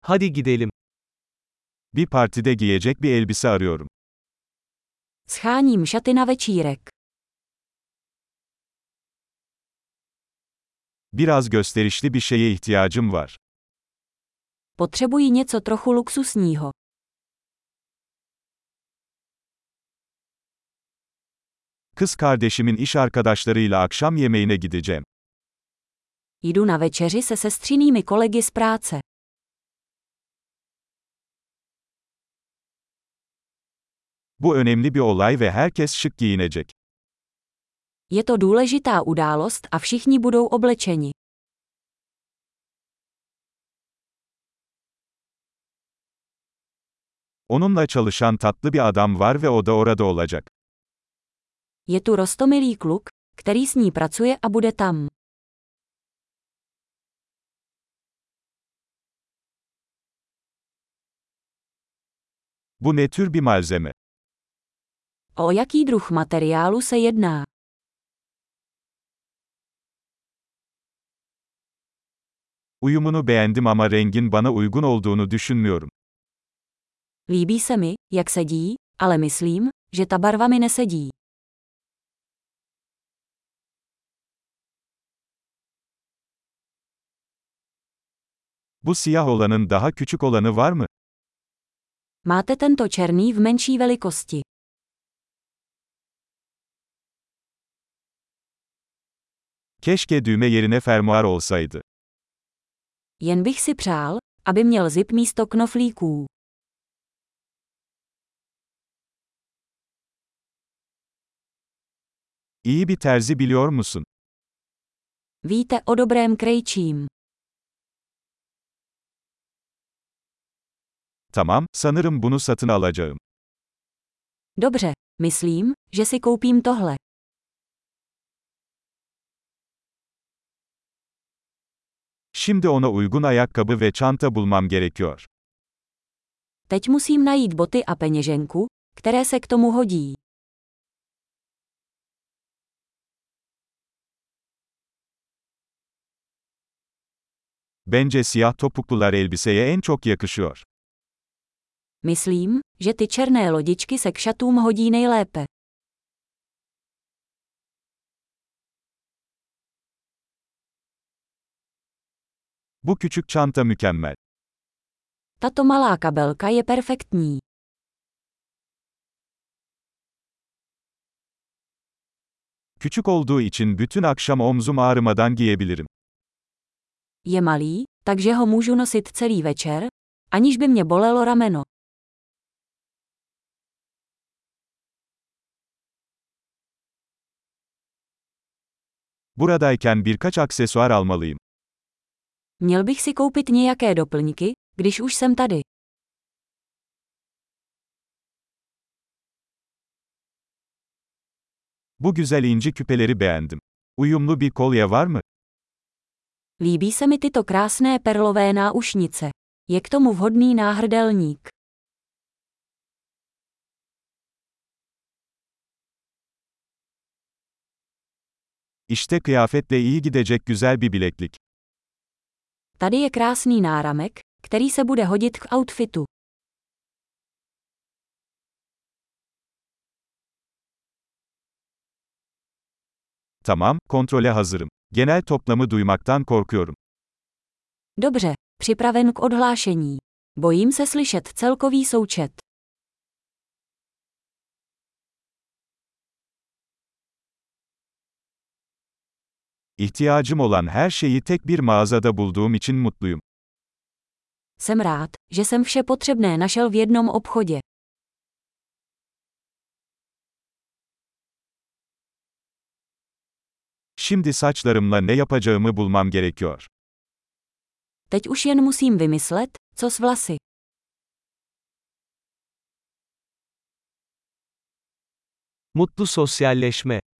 Hadi gidelim. Bir partide giyecek bir elbise arıyorum. Sháním šaty na večírek. Biraz gösterişli bir şeye ihtiyacım var. Potřebuji něco trochu luxusního. Kız kardeşimin iş arkadaşlarıyla akşam yemeğine gideceğim. Jdu na večeři se sestřinými kolegy z práce. Bu önemli bir olay ve herkes şık giyinecek. Je to důležitá událost a všichni budou oblečeni. Onunla çalışan tatlı bir adam var ve o da orada olacak. Je tu roztomilý kluk, který s ní pracuje a bude tam. Bu ne tür bir malzeme? O jaký druh materiálu se jedná? Uyumunu beğendim ama rengin bana uygun olduğunu düşünmüyorum. Líbí se mi, jak sedí, ale myslím, že ta barva mi nesedí. Bu siyah olanın daha küçük olanı var mı? Máte tento černý v menší velikosti. Keşke düğme yerine fermuar olsaydı. Jen bych si přál, aby měl zip místo knoflíků. İyi bir terzi biliyor musun? Víte o dobrém krejčím. Tamam, sanırım bunu satın alacağım. Dobře, myslím, že si koupím tohle. Şimdi ona uygun ayakkabı ve çanta bulmam gerekiyor. Teď musím najít boty a peněženku, které se k tomu hodí. Bence siyah topuklular elbiseye en çok yakışıyor. Myslím, že ty černé lodičky se k šatům hodí nejlépe. Bu küçük çanta mükemmel. Tato malá kabelka je perfektní. Küçük olduğu için bütün akşam omzum ağrımadan giyebilirim. Je malý, takže ho můžu nosit celý večer, aniž by mě bolelo rameno. Buradayken birkaç aksesuar almalıyım. Měl bych si koupit nějaké doplňky, když už jsem tady. Bu güzel inci küpeleri beğendim. Uyumlu bir kolye var mı? Líbí se mi tyto krásné perlové náušnice. Je k tomu vhodný náhrdelník. İşte kıyafetle iyi gidecek güzel bir bileklik. Tady je krásný náramek, který se bude hodit k outfitu. Tamam, kontrole hazırım. Genel toplamı duymaktan korkuyorum. Dobře, připraven k odhlášení. Bojím se slyšet celkový součet. İhtiyacım olan her şeyi tek bir mağazada bulduğum için mutluyum. Jsem rád, že jsem vše potřebné našel v jednom obchodě. Şimdi saçlarımla ne yapacağımı bulmam gerekiyor. Teď už jen musím vymyslet, co s vlasy. Mutlu sosyalleşme.